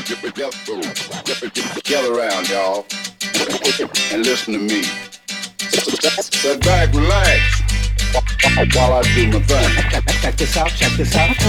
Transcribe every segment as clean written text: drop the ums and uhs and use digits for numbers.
Gather around, y'all, and listen to me. Sit back, relax, while I do my thing. Check this out, check this out.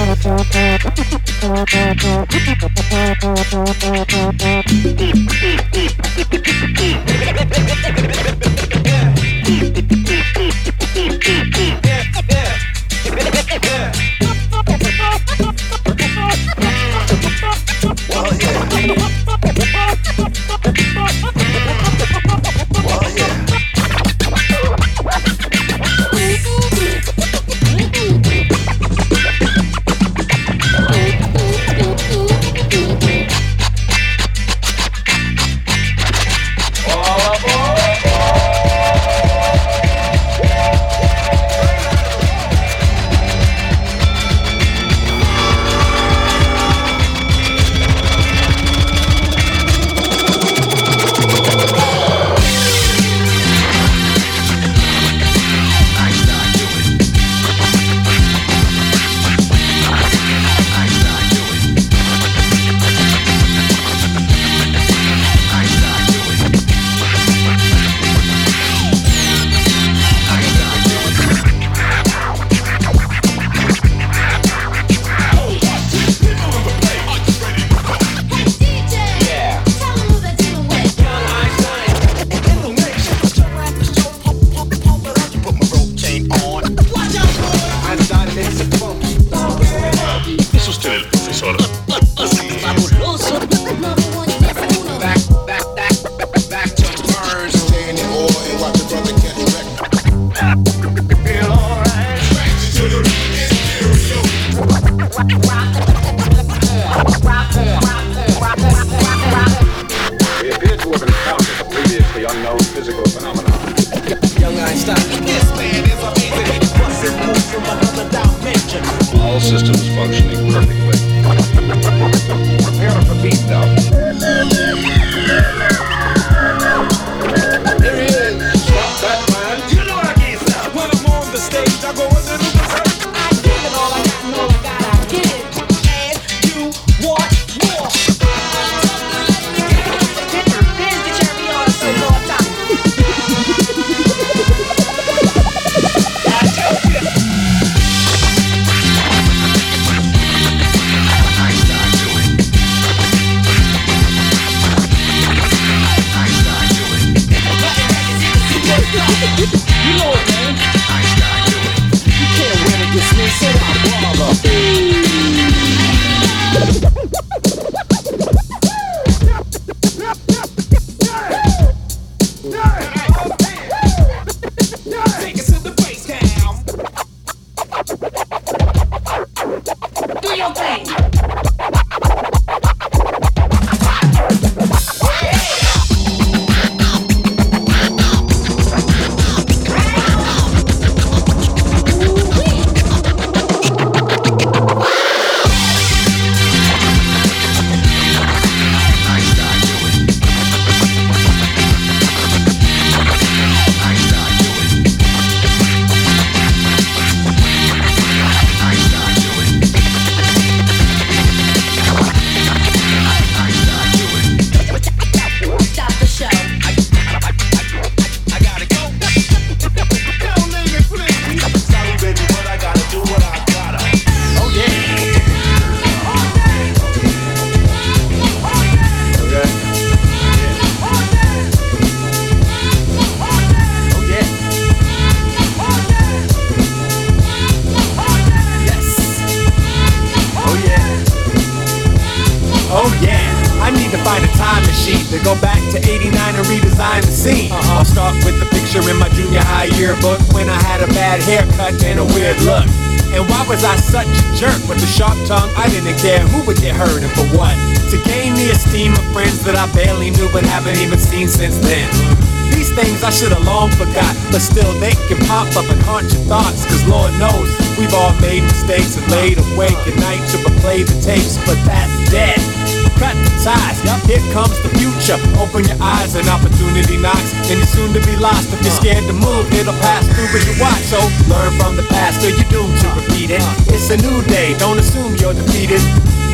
I should have long forgot, but still they can pop up and haunt your thoughts. Cause Lord knows, we've all made mistakes and laid awake at night to replay the tapes, but that's dead. Cut the ties, here comes the future. Open your eyes, an opportunity knocks, and you're soon to be lost. If you're scared to move, it'll pass through as you watch. So learn from the past or you're doomed to repeat it. It's a new day, don't assume you're defeated.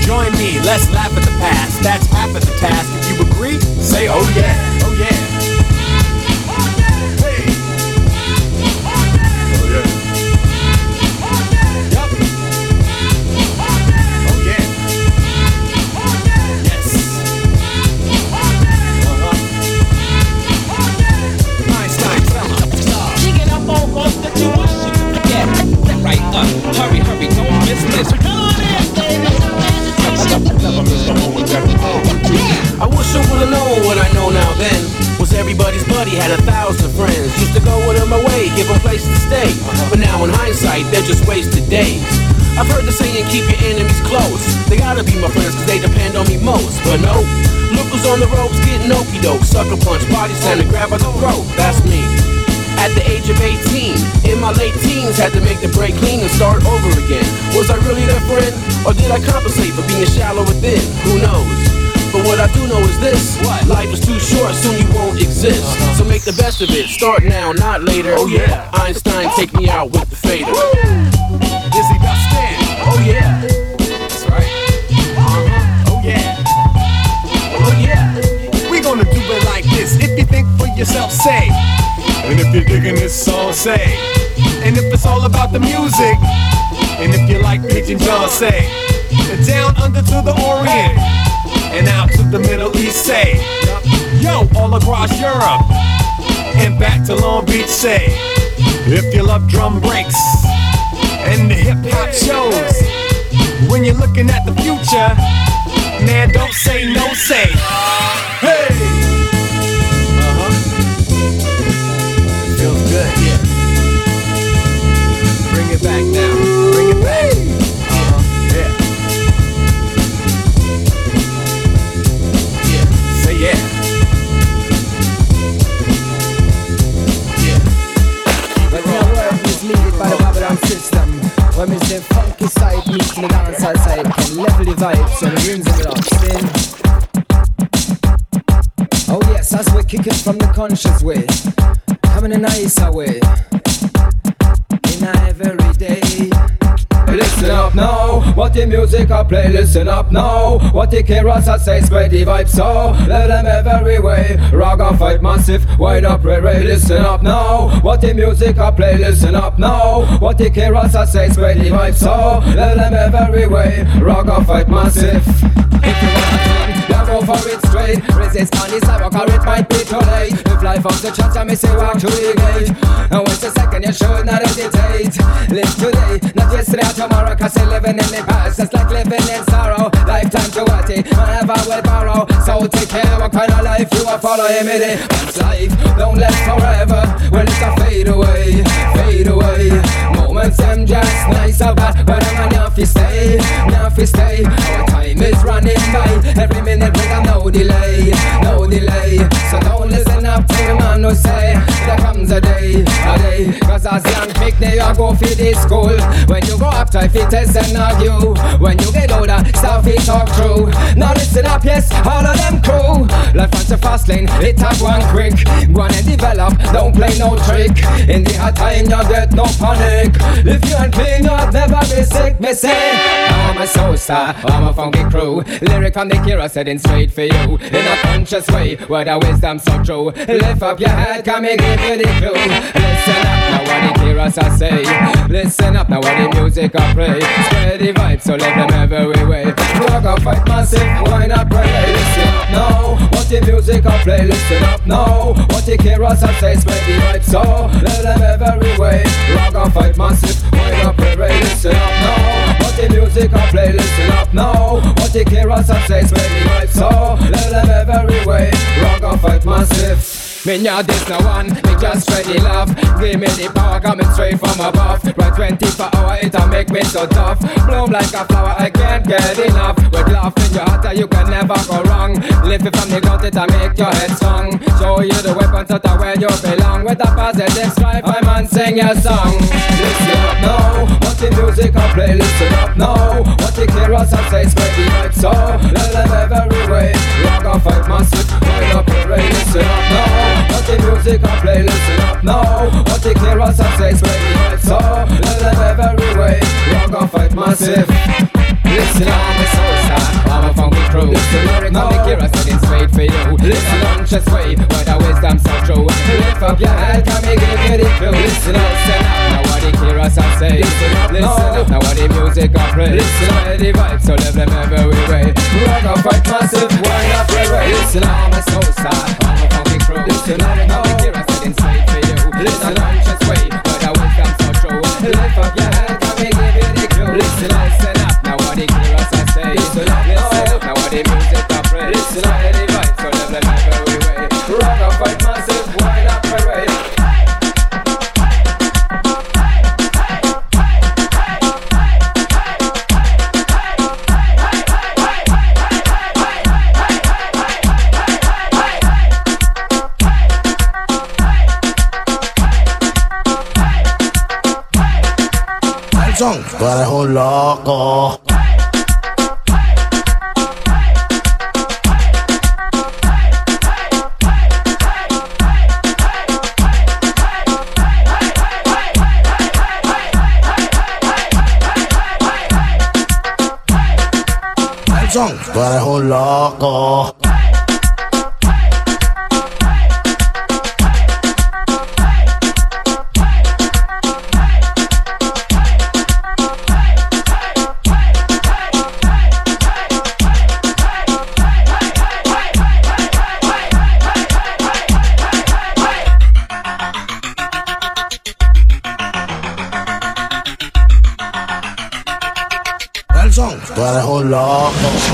Join me, let's laugh at the past. That's half of the task. If you agree, say oh yeah, oh yeah. Hey. Oh yeah. Yup. Oh yeah. Yes. Einstein, tell 'em. Digging up on folks that you wish you could forget. Step right up, hurry, hurry, don't miss this. I wish I would've known what I know now then. Was everybody's buddy, had 1,000 friends. Used to go with them away, give them place to stay. But now in hindsight, they're just wasted days. I've heard the saying, keep your enemies close. They gotta be my friends cause they depend on me most. But no, look who's on the ropes getting okey doke. Sucker punch, body slam, and grab by the throat. That's me. At the age of 18, in my late teens, had to make the break clean and start over again. Was I really their friend, or did I compensate for being shallow within? Who knows? But what I do know is this: what? Life is too short, soon you won't exist. So make the best of it, start now, not later. Oh yeah, Einstein, take me out with the fader. Dizzy Dustin, oh yeah, that's right. Oh yeah, oh yeah. We gonna do it like this. If you think for yourself, say. And if you're digging this song, say. And if it's all about the music, and if you like Pigeon John, say. And down under to the Orient, and out to the Middle East, say. Yo, all across Europe, and back to Long Beach, say. If you love drum breaks, and the hip hop shows, when you're looking at the future, man, don't say no, say. Hey! Feels good, yeah. Bring it back now. Bring it back. Yeah. Yeah. Say yeah. Yeah. When my world is leaded by the Babylon system, when it's the funky side meets the dancehall side, can level the vibes and the rings of it up, spin. Oh yes, as we kick it from the conscious way, coming in a nicer way, in a every day. Listen up now, what the music I play, listen up now. What the K-Ross I say, spread the vibe so let them every way. Raga fight massive, wind up ray. Listen up now, what the music I play, listen up now. What the K-Ross I say, spread the vibe so let them every way. Raga fight massive. If you want to go for it straight. Resist on the sidewalk or it might be too late. If life on the church I may say walk to the gate. And once a second you should not hesitate. Live today, not yesterday or tomorrow. Cause you're living in the past, it's like living in sorrow. Lifetime to what it, whenever will borrow. So take care what kind of life you are following me there. Once life don't last forever, well it's a fade away, fade away. Moments them just nice or bad, but I'm not fi stay, not fi stay. Our time is running by, every minute we got no delay, no delay. So don't listen up to the man who say there comes a day. Cause as young pick they you go for this school. When you go up try fi test and argue. When you get older start fi talk true. Now listen up yes, all of them crew. Life on the fast lane, it have one quick. Go on and develop, don't play no trick. In the hard time you get no panic. If you ain't clean you'll never be sick. Me say I'm a soul star, I'm a funky crew. Lyric on the Kira setting straight for you. In a conscious way, where the wisdom so true. Lift up your head, come and give you the clue. Listen up now what the Kiras I say. Listen up now what the music I play. Spread the vibe so let them every way. Rock up, fight massive, why not pray? Listen up now what the music I play. Listen up now what the Kiras I say. Spread the vibe so let them every way. Rock up, fight massive, why not pray? Listen up now what the music I play. Listen up now what the Kiras I say. Spread the vibe so let them every way. Rock up, fight massive. Me not this no one, me just spread the love. Give me the power coming straight from above. Right 24 hours, it'll make me so tough. Bloom like a flower, I can't get enough. With love in your heart, you can never go wrong. Lift it from the gut, it'll make your head strong. Show you the weapons that are where you belong. With a positive stripe, I man sing your song. Listen up now, what the music I play. Listen up now, what the Kiras I say. Spread the vibe so let them every way. Rock and fight massive, wind up your ray. Listen up now what the music I play, listen up now. What the Kiras I say, spread the vibe so let them every way. Rock and fight massive. Listen up, my soul star, conscious way, where the wisdom so true. Lift up your head, can me give you the clue. Listen up, listen up, now what the heroes I say. Listen up, now what the music I play. Listen up, the vibes, so live them every way. Rock up, fight massive, wind up, way. Listen up, my soul side, I'm a funky crew. Listen up, now the heroes I didn't say for you. Listen up, conscious way, where the wisdom so true. Lift up your head, can me give you the clue. Listen up, now what the heroes I say. Listen up, now what the music I play. Listen up, the vibes, so live them every way. Rock up, fight massive, wind up, way. Tú eres un loco. Tú eres un loco. Tú eres un loco.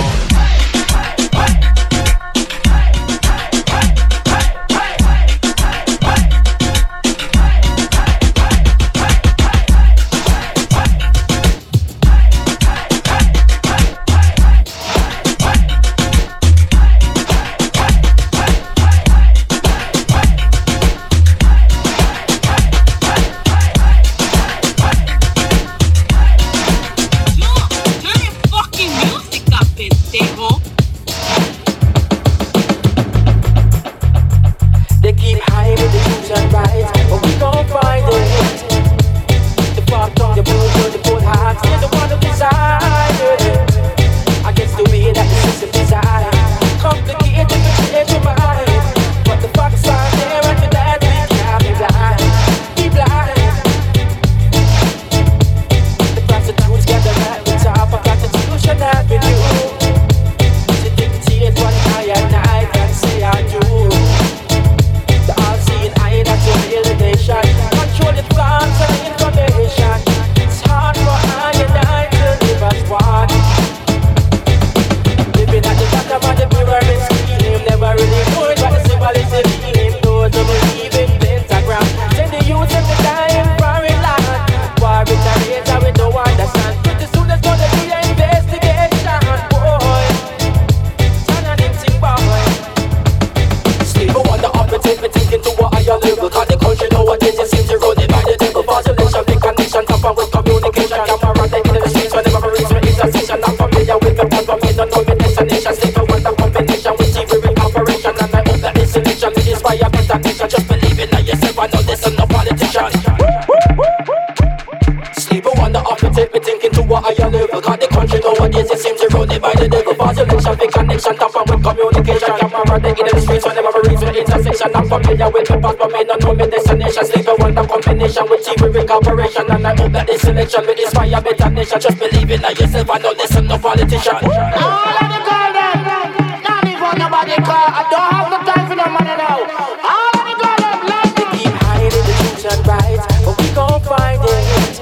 And I hope that this selection will inspire better nation. Just believe in yourself and don't listen to politician. All of the girl them, not even nobody call. I don't have no time for no money now. All of the girl them, like they keep hiding the truth and right, but we gon' find it.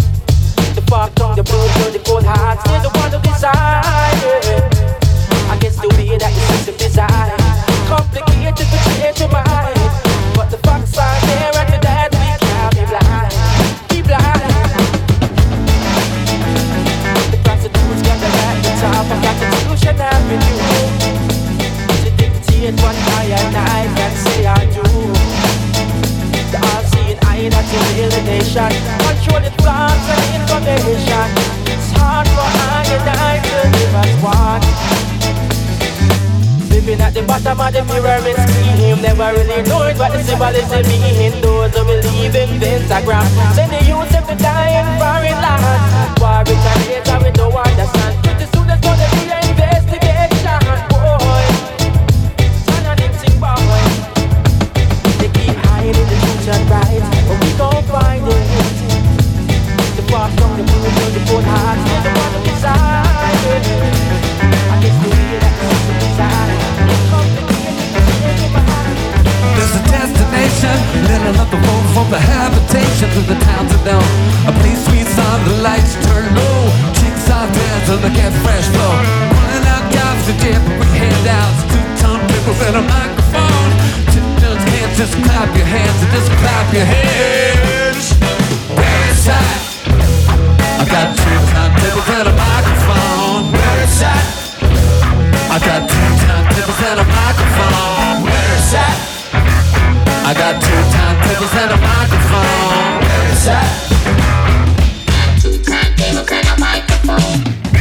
The fuck on the blue, the cold hearts, they're the one who decide. I guess the way that your system design complicated to change your mind, but the facts are there and to that we can't be blind. I got the solution avenue to dictate what I and I can say I do. The all-seeing eye that's in the nation, control the thoughts and the information. It's hard for I and I to live as one. Living at the bottom of the pyramid scheme, never really knowing what the symbolism mean. Those who believe in pentagram, send the youth them to die in foreign land. War retaliates and we don't understand. Pretty soon there's gonna be an investigation, boy. Turn on them thing, boy. get fresh flow. Pulling out jobs to dip with handouts, 2 turntables and a microphone. Just can't just clap your hands and just clap your hands. Where it's at, I got 2 turntables and a microphone. Where it's at, I got 2 turntables and a microphone. Where it's at, I got 2 turntables and a microphone. Where it's at, 2 turntables and a microphone.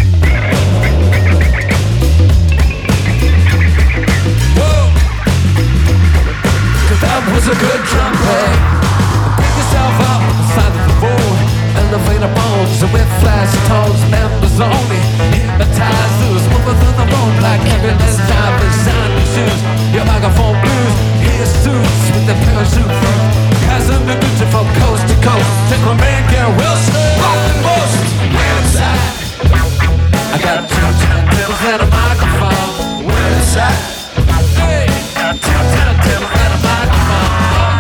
That was a good drum play. Pick yourself up on the side of the road. Elevator bones and with flash tones. Members only. Hypnotizers moving through the room like ambulance drivers. Sign your shoes, your microphone blues. Here's suits with the parachute through. Passing the Gucci from coast to coast. Take my man Gary Wilson. Rockin' most. Where it's at, I got 2 turntables and a microphone. Where it's at, hey, 2 turntables and a microphone.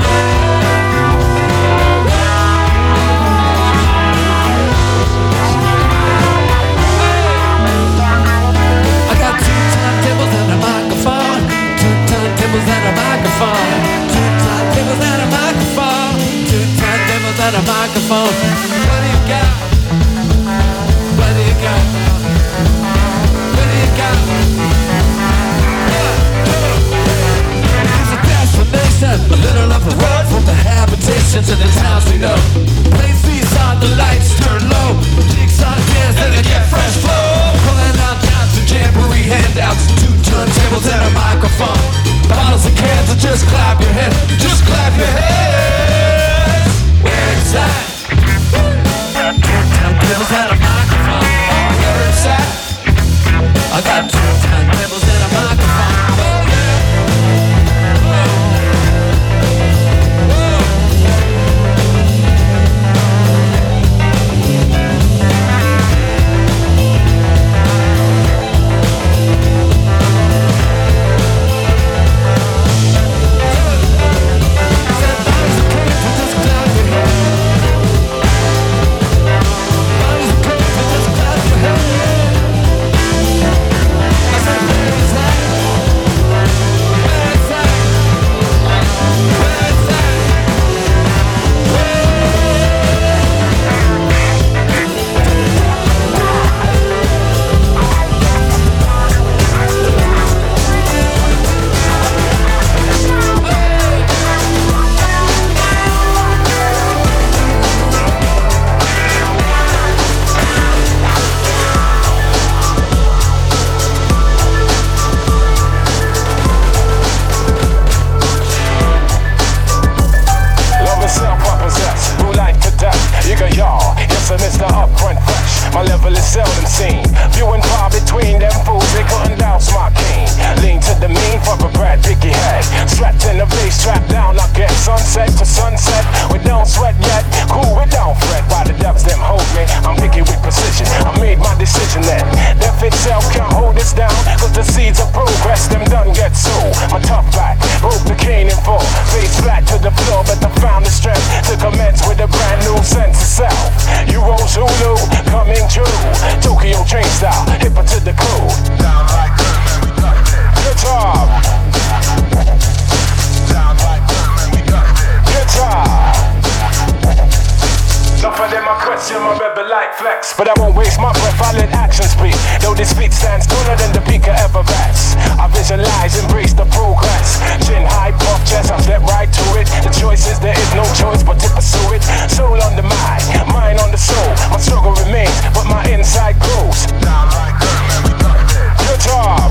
I got 2 turntables and a microphone. 2 turntables and a microphone. 2 turntables and a microphone. 2 turntables and a microphone. What do you got? What do you got? What do you got? It's a destination, a little of the road from the habitation to the towns we know. Play seats on, the lights turn low. Jigsaw dance, then they get fresh flow. Pulling out jobs and jamboree handouts, 2 turntables and a microphone. Bottles and cans, and just clap your hands, just clap your hands. Where it's at, 2 turntables and a microphone. Where it's at, I got 2 turntables and a microphone. Oh yeah. But I won't waste my breath, I let action speak. Though this feat stands taller than the peak of Everest, I visualize, embrace the progress. Chin high, puff chest, I step right to it. The choice is there is no choice but to pursue it. Soul on the mind on the soul. My struggle remains, but my inside grows. Down like good, man, we got it. Good job.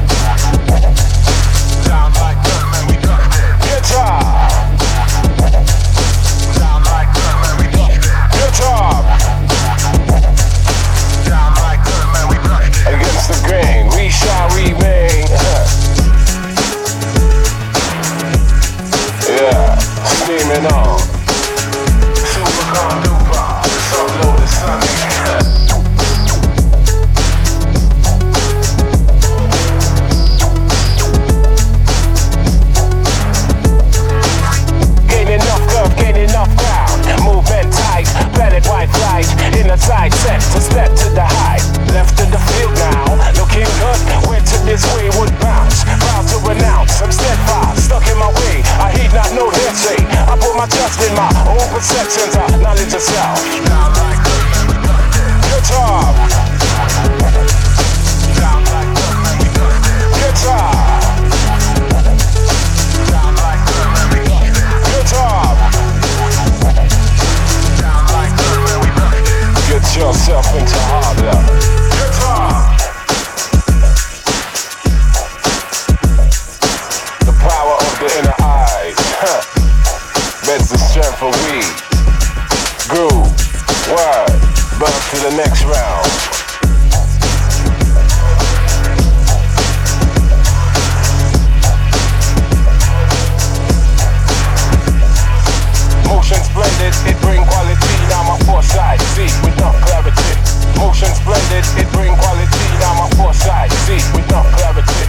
Down like good, man, we got it. Good job. Down like good, man, we got it. Good job. Against the grain, we shall remain. Yeah, steaming on. Super Condupa, upload the sunny. Perceptions of knowledge of self. Guitar. Guitar. Guitar. Get yourself into harder. Guitar. The power of the inner eye. That's the strength of weed. Groove, word, bump to the next round. Motion splendid, it bring quality. Now my foresight, see with enough clarity. Motion splendid, it bring quality. Now my foresight, see with enough clarity.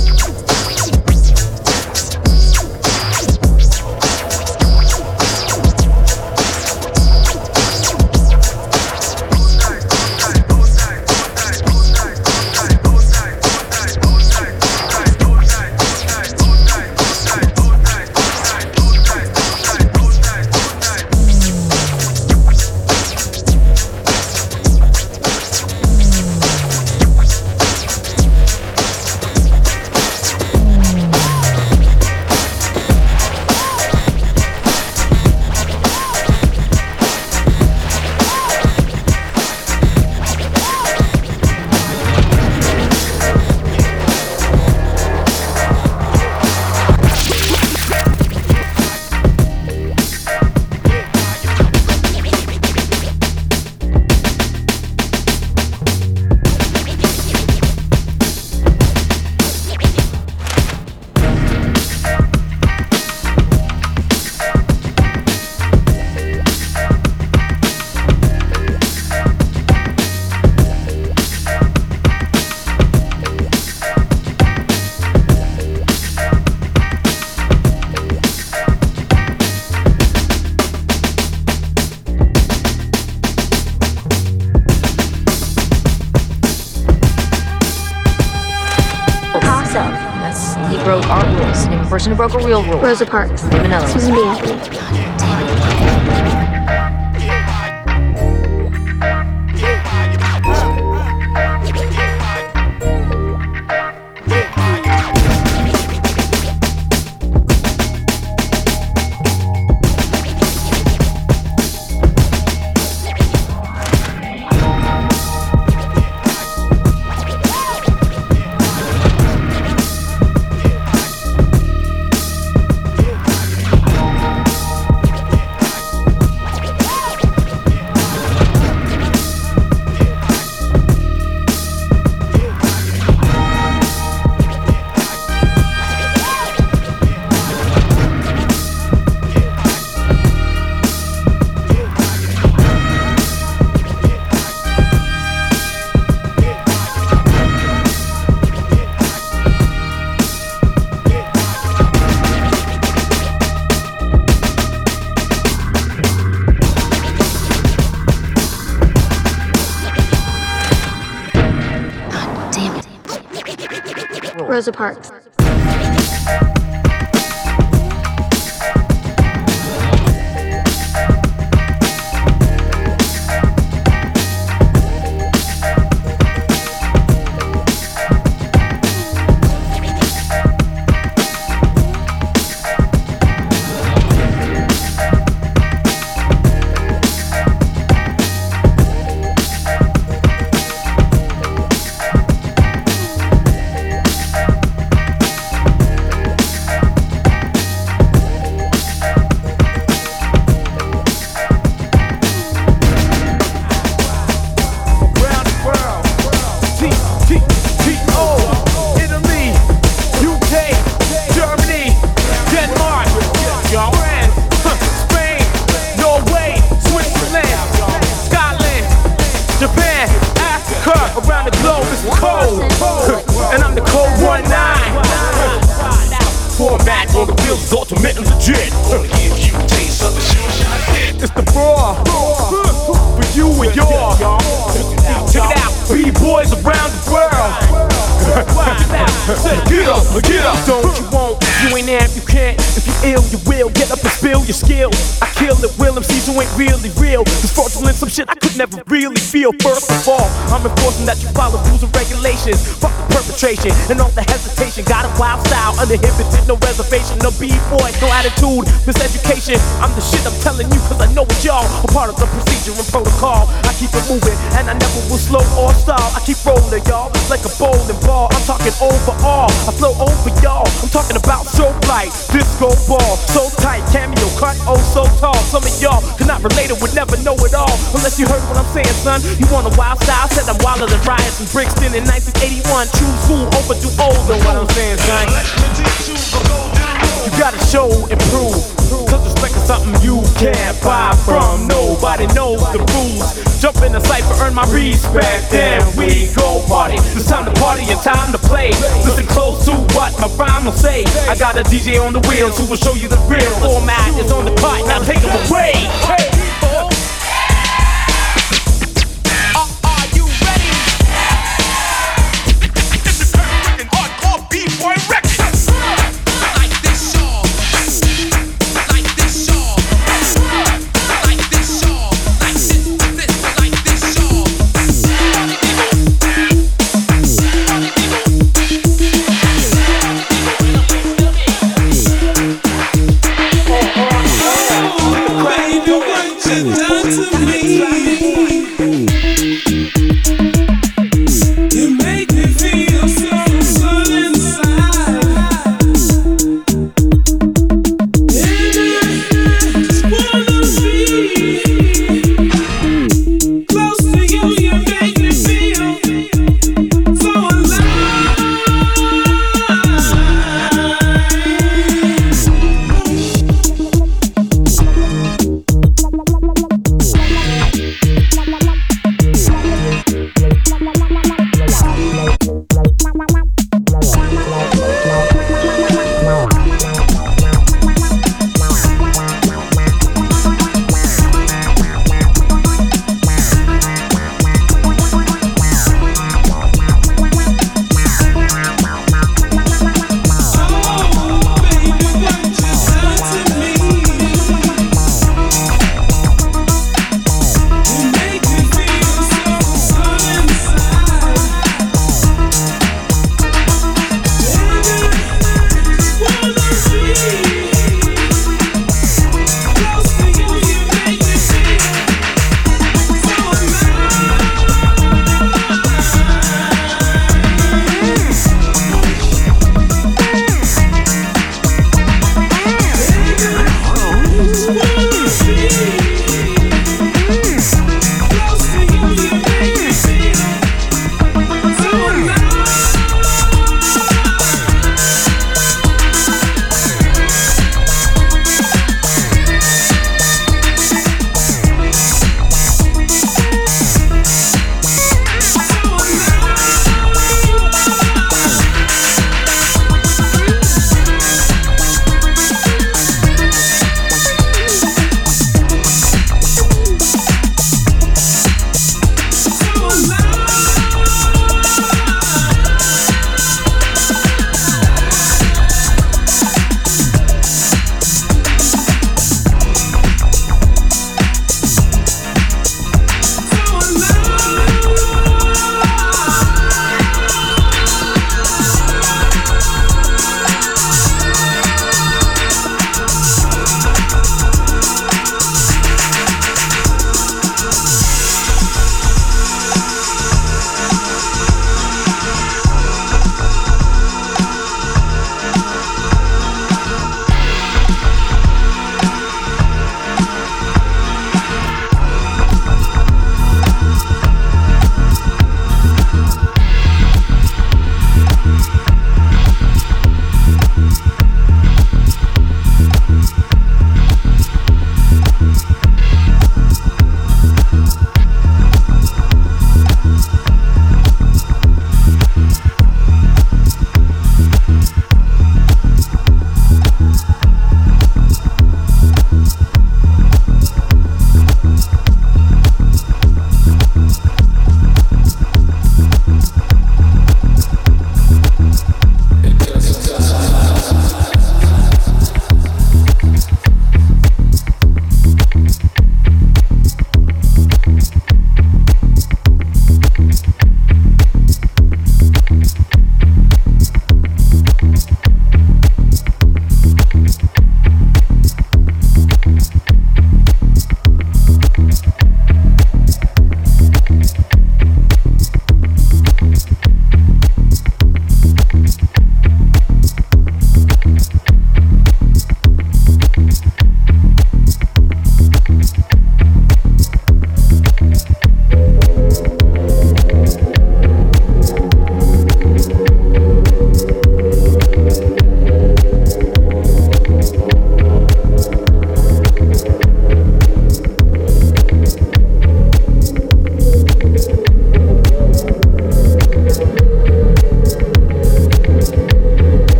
Person who broke a real rule. Rosa Parks. Vanilla. Susan B. Anthony. Rosa Parks. ultimate and legit. Gonna give you a taste of the shit I did. It's the raw for you and your. Check it out, B-boys around the world. Say, get up, get up. Don't you want? If you ain't there, if you can't. If you ill, you will get up and spill your skill. I kill it, will MCs who ain't really real. This fraudulent some shit I could never really feel. First of all, I'm enforcing that you follow rules and regulations. Fuck the perpetration and all the hesitation. Got a wild style, uninhibited, no reservation. No B-boy, no attitude, miseducation. I'm the shit, I'm telling you, cause I know it, y'all. A part of the procedure and protocol. I keep it moving, and I never will slow or stall. I keep rolling, y'all, like a bowling ball. I'm talking overall, I flow over y'all. I'm talking about strobe light, disco ball. So tight, cameo cut, oh so tall. Some of y'all cannot relate it, would never know it all. Unless you heard what I'm saying, son. You want a wild style? Said I'm wilder than riots in Brixton in 1981. Choose who over do old, know what I'm saying, son. You gotta show and prove, cause respect is something you can't buy from. Nobody knows the rules. Jump in the cypher, earn my respect, then we go party. It's time to party and time to play. Listen close to what my rhyme will say. I got a DJ on the wheels who will show you the real format is on the part. Now take him away. Hey. Are you ready? This is Hurricane Hardcore B-Boy Records. Like this, y'all. Like this, y'all. Like this, y'all. Like this, like this, y'all. How you doing?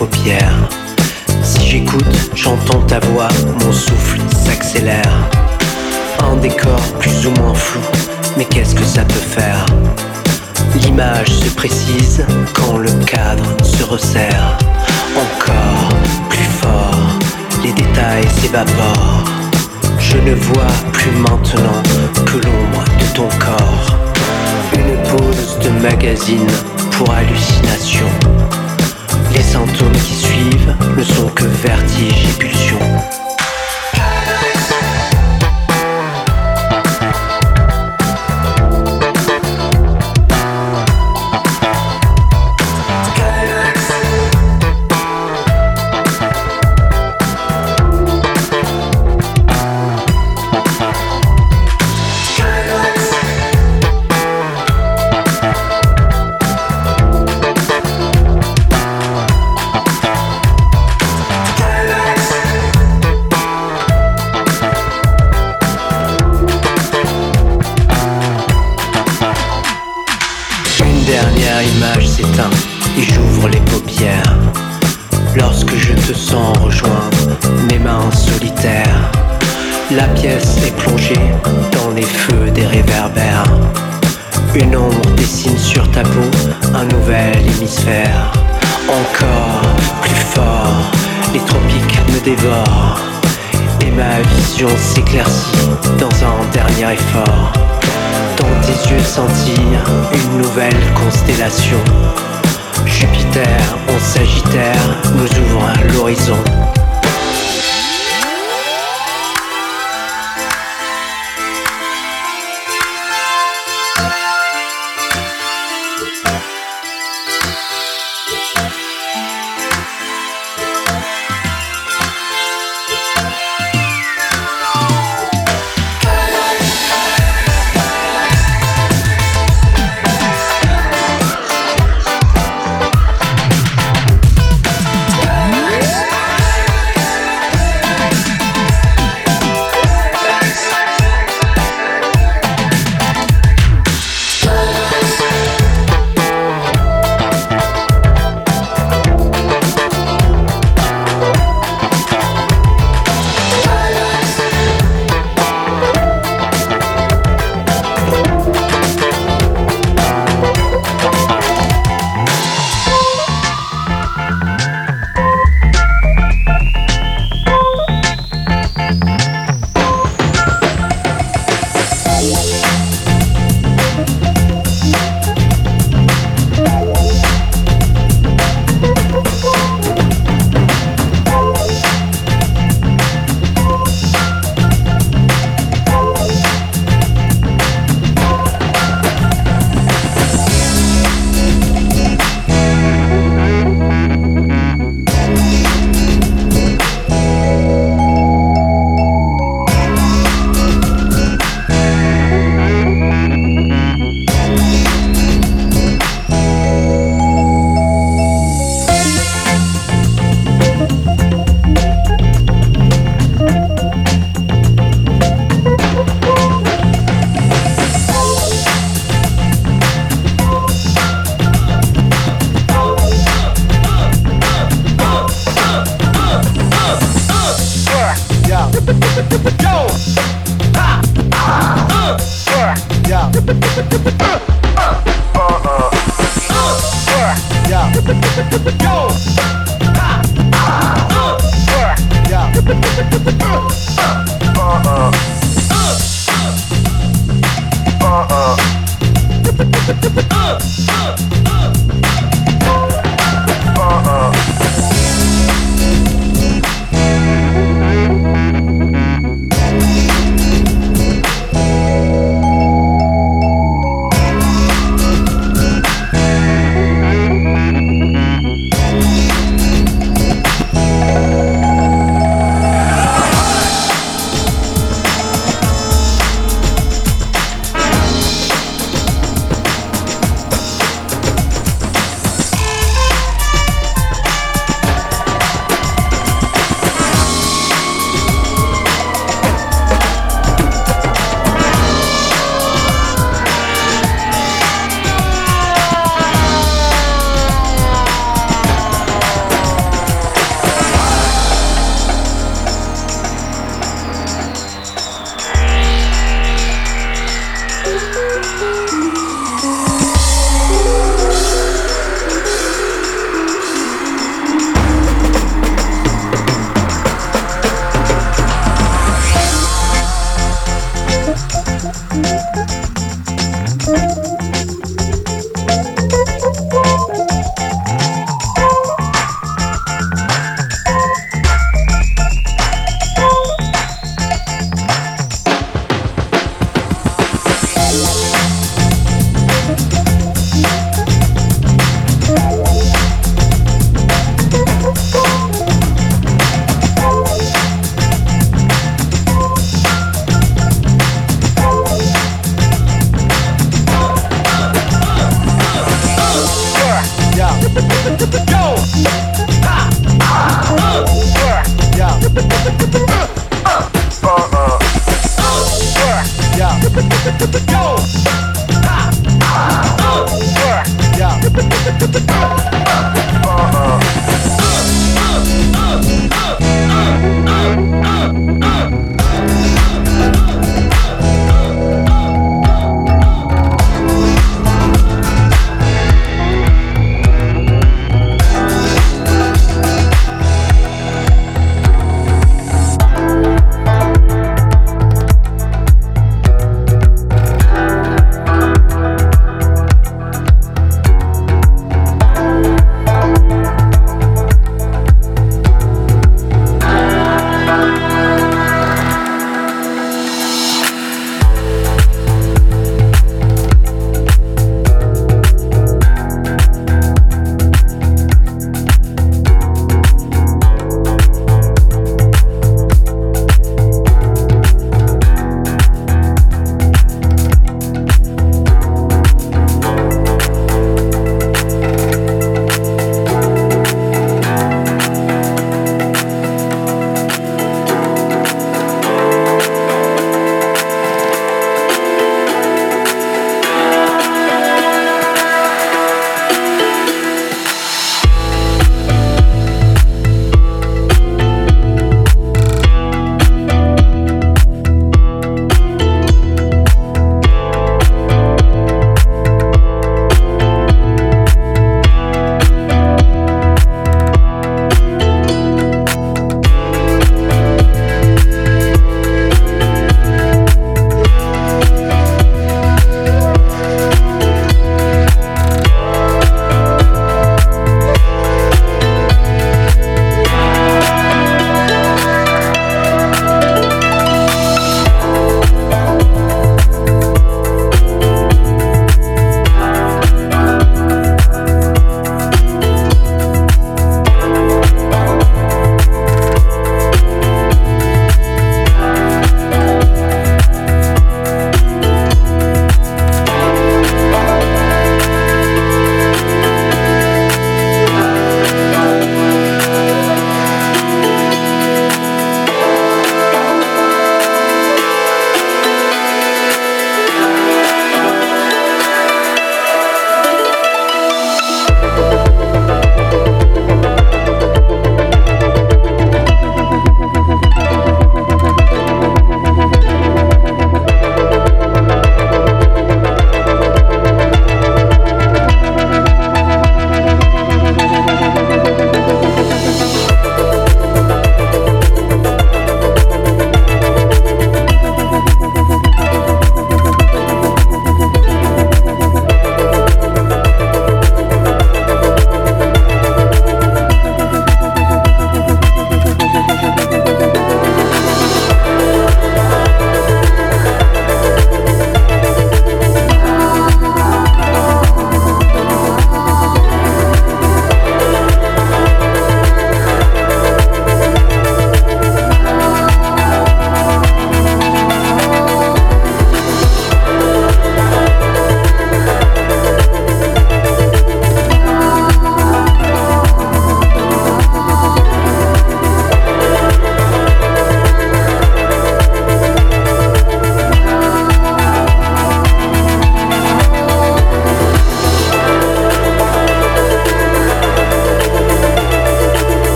paupières. Si j'écoute, j'entends ta voix, mon souffle s'accélère. Un décor plus ou moins flou, mais qu'est-ce que ça peut faire? L'image se précise quand le cadre se resserre. Encore plus fort, les détails s'évaporent. Je ne vois plus maintenant que l'ombre de ton corps. Une pause de magazine pour hallucination. Les symptômes qui suivent ne sont que vertige et pulsion. L'image s'éteint et j'ouvre les paupières. Lorsque je te sens rejoindre mes mains solitaires, la pièce est plongée dans les feux des réverbères. Une ombre dessine sur ta peau un nouvel hémisphère. Encore plus fort, les tropiques me dévorent et ma vision s'éclaircit dans un dernier effort. Dans tes yeux scintille une nouvelle constellation. Jupiter en Sagittaire nous ouvre à l'horizon. Yeah.